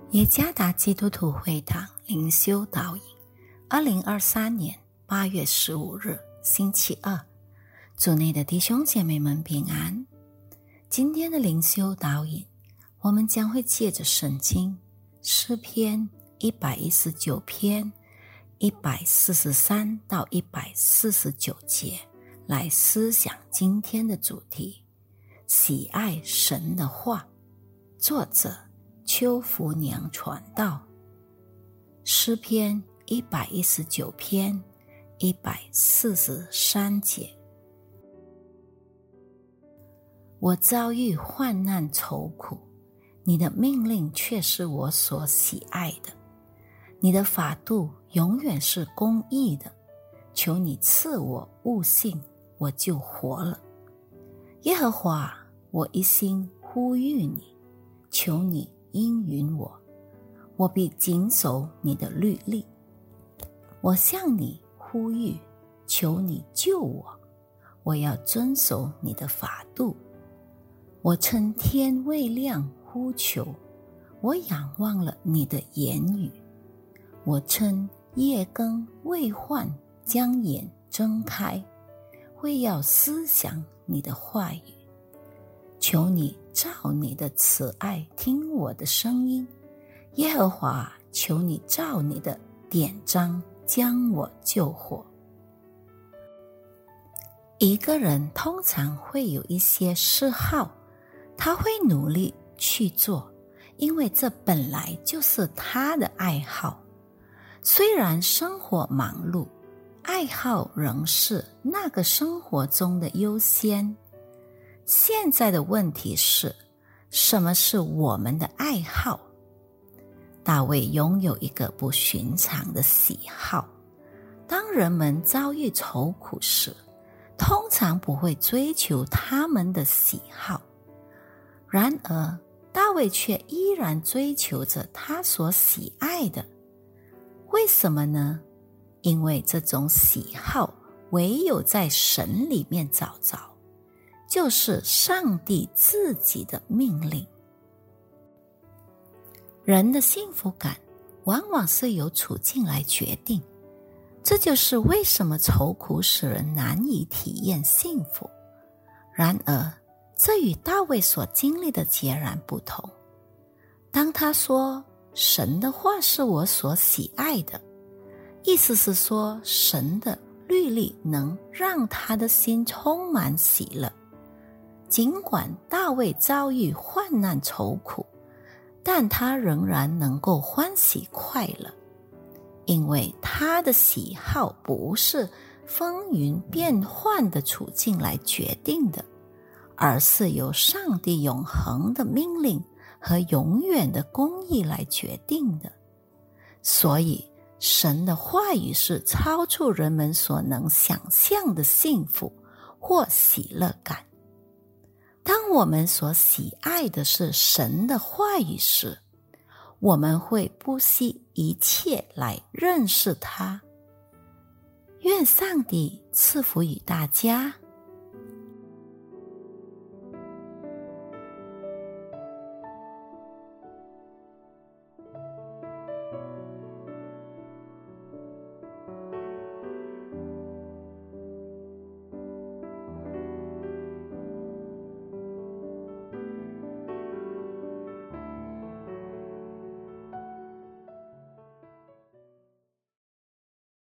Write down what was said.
耶加达基督徒会堂灵修导引，2023年8月15日星期二，主内的弟兄姐妹们平安。今天的灵修导引，我们将会借着圣经诗篇119篇143到149节来思想今天的主题：喜爱神的话。作者邱福娘传道。诗篇119篇143节：我遭遇患难愁苦，你的命令却是我所喜爱的。你的法度永远是公义的，求你赐我悟性，我就活了。耶和华，我一心呼吁你，求你应允我，我必谨守你的律例。我向你呼吁，求你救我，我要遵守你的法度。我趁天未亮呼求，我仰望了你的言语。我趁夜更未换将眼睁开，为要思想你的话语。求你照你的慈爱听我的声音，耶和华，求你照你的典章将我救活。一个人通常会有一些嗜好，他会努力去做，因为这本来就是他的爱好。虽然生活忙碌，爱好仍是那个生活中的优先。现在的问题是，什么是我们的爱好？大卫拥有一个不寻常的喜好。当人们遭遇愁苦时，通常不会追求他们的喜好。然而，大卫却依然追求着他所喜爱的。为什么呢？因为这种喜好唯有在神里面找着，就是上帝自己的命令。人的幸福感往往是由处境来决定，这就是为什么愁苦使人难以体验幸福。然而，这与大卫所经历的截然不同。当他说神的话是我所喜爱的，意思是说神的律例能让他的心充满喜乐。尽管大卫遭遇患难愁苦，但他仍然能够欢喜快乐，因为他的喜好不是风云变幻的处境来决定的，而是由上帝永恒的命令和永远的公义来决定的。所以神的话语是超出人们所能想象的幸福或喜乐感。当我们所喜爱的是神的话语时，我们会不惜一切来认识它。愿上帝赐福于大家。